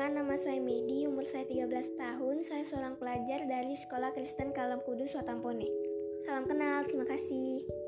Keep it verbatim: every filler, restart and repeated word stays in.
perkenalkan, nama saya Medi, umur saya tiga belas tahun. Saya seorang pelajar dari Sekolah Kristen Kalam Kudus Watampone. Salam kenal, terima kasih.